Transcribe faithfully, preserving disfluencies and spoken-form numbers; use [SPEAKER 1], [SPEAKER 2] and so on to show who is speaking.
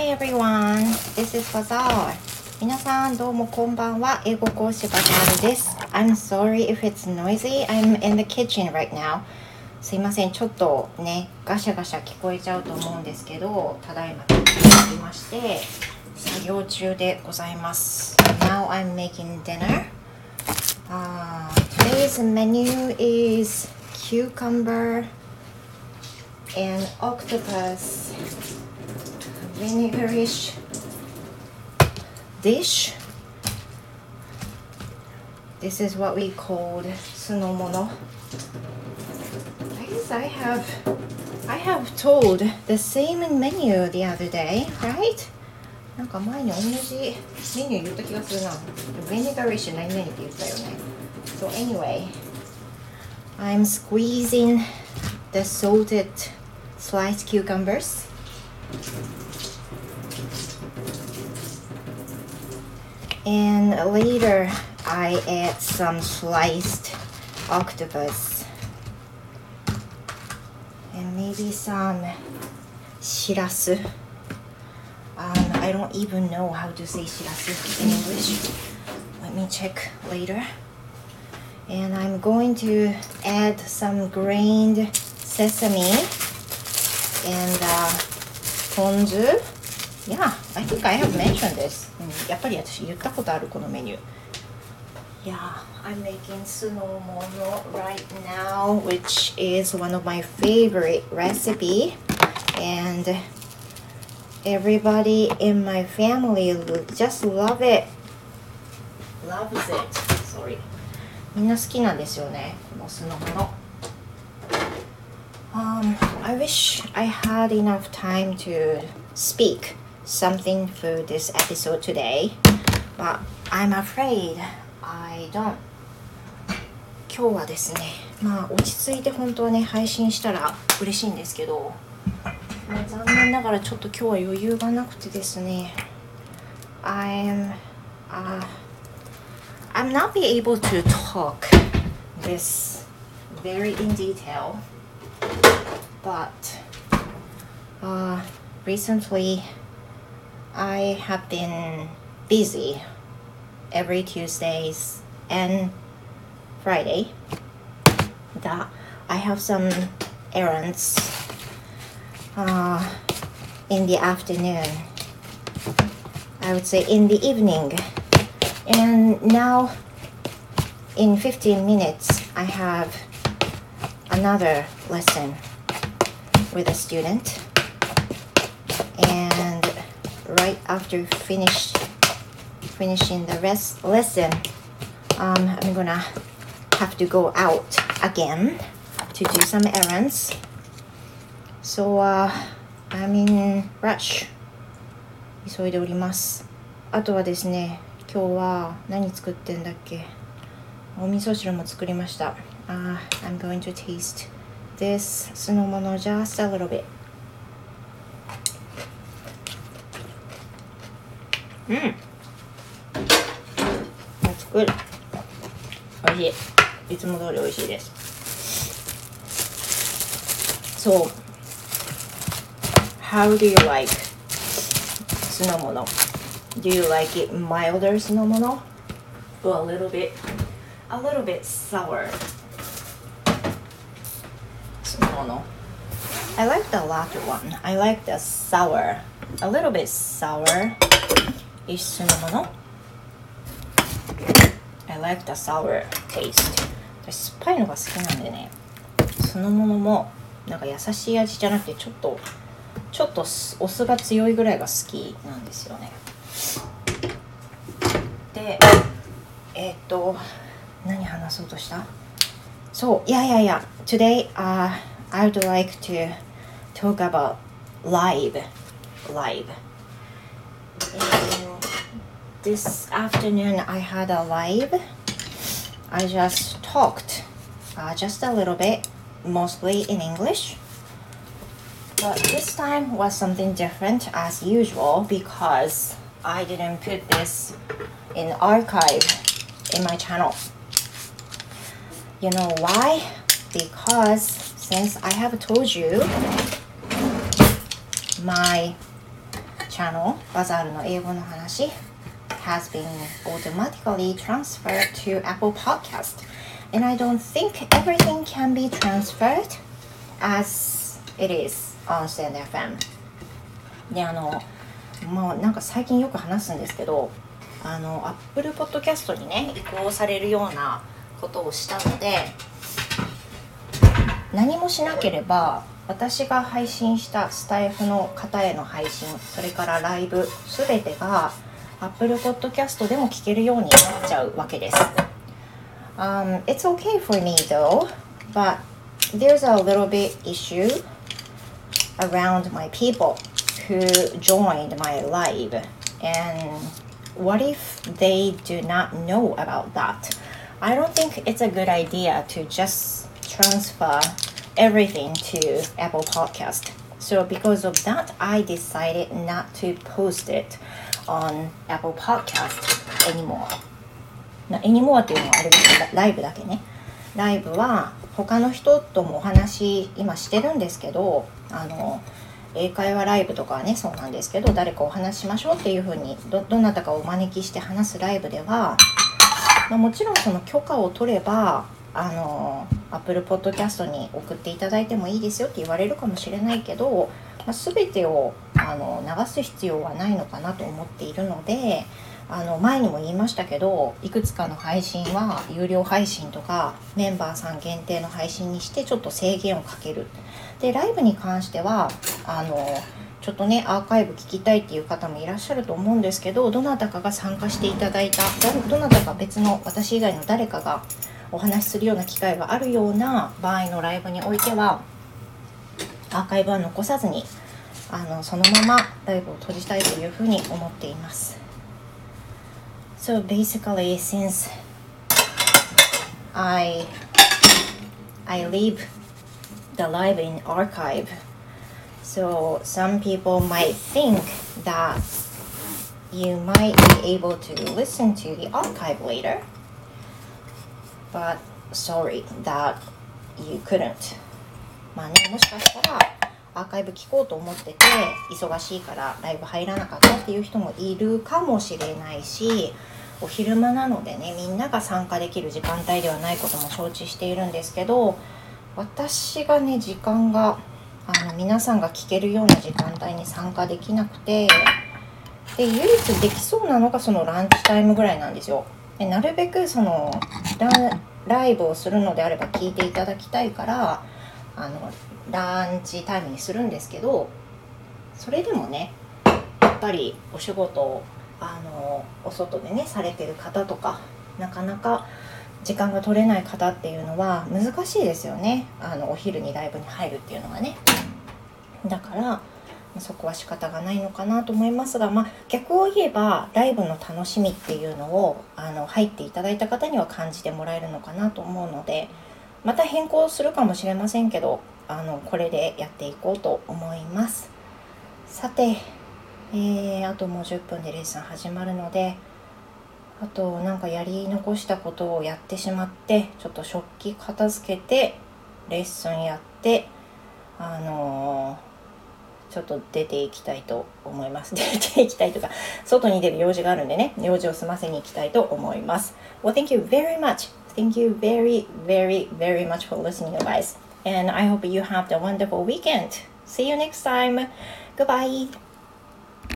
[SPEAKER 1] Hi everyone, this is Bazaar. 皆さんどうもこんばんは。英語講師バザールです。I'm sorry if it's noisy. I'm in the kitchen right now. すいません、ちょっとね、ガシャガシャ聞こえちゃうと思うんですけど、ただいま来まして、作業中でございます。Now I'm making dinner. Uh, today's menu is cucumber and octopus vinegarish dish. This is what we called sunomono. I guess I have I have told the same menu the other day, right? なんか前に同じメニュー言った気がするな。Vinegarish 何々って言ったよね。So anyway, I'm squeezing the salted sliced cucumbers. And later, I add some sliced octopus and maybe some shirasu. Um, I don't even know how to say shirasu in English. Let me check later. And I'm going to add some grained sesame and uh, ponzu.Yeah, I think I have mentioned this. やっぱり私言ったことあるこのメニュー。Yeah, I'm making sunomono right now, which is one of my favorite recipe. And everybody in my family just love it. Loves it. Sorry. みんな好きなんですよね、この酢の物。Um, I wish I had enough time to speak something for this episode today, but I'm afraid I don't. 今日はですね、まあ落ち着いて本当はね配信したら嬉しいんですけど、まあ、残念ながらちょっと今日は余裕がなくてですね、I'm uh, I'm not be able to talk this very in detail, but uh, recently I have been busy every Tuesdays and Friday that I have some errands uh, in the afternoon, I would say in the evening, and now in fifteen minutes I have another lesson with a student, and right after finish finishing the rest lesson, um, I'm gonna have to go out again to do some errands. So uh, I'm in rush. 急いでおります。あとはですね、今日は何作ってんだっけ？お味噌汁も作りました。Uh, I'm going to taste this 酢の物 just a little bit. うん。That's good. おいしい。いつも通りおいしいです。So, how do you like 酢の物? Do you like it milder 酢の物? Or a little bit, a little bit sour 酢の物? I like the latter one. I like the sour, a little bit sour.ish 酢の物 I like the sour taste. 私酸っぱいのが好きなんでね、酢の物もなんか優しい味じゃなくてちょっとちょっとお酢が強いぐらいが好きなんですよね。で、えっと何話そうとした？そう、いやいやいや Today、uh, I would like to talk about live live.This afternoon I had a live. I just talked uh, just a little bit, mostly in English. But this time was something different as usual because I didn't put this in archive in my channel. You know why? Because since I have told you my channel バザールの英語の話 has been automatically transferred to Apple Podcast, and I don't think everything can be transferred as it is on Stand エフエム で、あのもうなんか最近よく話すんですけど、あの Apple Podcast にね移行されるようなことをしたので、何もしなければ私が配信したスタイフの方への配信、それからライブすべてが Apple Podcast でも聞けるようになっちゃうわけです。Um, it's okay for me though, but there's a little bit issue around my people who joined my live, and what if they do not know about that? I don't think it's a good idea to just transfer everything to Apple Podcast. So because of that, I decided not to post it on Apple Podcast anymore. anymore っていうのはあれですけど、ライブだけね。ライブは他の人ともお話今してるんですけど、あの英会話ライブとかはねそうなんですけど、誰かお話しましょうっていう風に ど, どなたかをお招きして話すライブでは、まあ、もちろんその許可を取ればあの Apple Podcast に送っていただいてもいいですよって言われるかもしれないけど、まあ、全てをあの流す必要はないのかなと思っているので、あの前にも言いましたけど、いくつかの配信は有料配信とかメンバーさん限定の配信にしてちょっと制限をかける。でライブに関してはあのちょっとねアーカイブ聞きたいっていう方もいらっしゃると思うんですけど、どなたかが参加していただいた ど, どなたか別の私以外の誰かがお話しするような機会があるような場合のライブにおいてはアーカイブは残さずにあのそのままライブを閉じたいというふうに思っています。So basically, since I I leave the live in archive, so some people might think that you might be able to listen to the archive later, but sorry that you couldn't. まあね、もしかしたらアーカイブ聞こうと思ってて忙しいからライブ入らなかったっていう人もいるかもしれないし、お昼間なのでねみんなが参加できる時間帯ではないことも承知しているんですけど、私がね時間があの皆さんが聞けるような時間帯に参加できなくて、で唯一できそうなのがそのランチタイムぐらいなんですよ。でなるべくその ラ, ライブをするのであれば聞いていただきたいからあのランチタイムにするんですけど、それでもねやっぱりお仕事をあのお外でねされてる方とかなかなか時間が取れない方っていうのは難しいですよね。あのお昼にライブに入るっていうのはね。だからそこは仕方がないのかなと思いますが、まあ、逆を言えばライブの楽しみっていうのをあの入っていただいた方には感じてもらえるのかなと思うので、また変更するかもしれませんけど、あのこれでやっていこうと思います。さて、えー、あともうじゅっぷんでレッスン始まるので、あとなんかやり残したことをやってしまって、ちょっと食器片付けてレッスンやってあのー、ちょっと出ていきたいと思います。出ていきたいとか外に出る用事があるんでね、用事を済ませに行きたいと思います。Well, thank you very much. Thank you very, very, very much for listening, guys. And I hope you have a wonderful weekend. See you next time. Goodbye.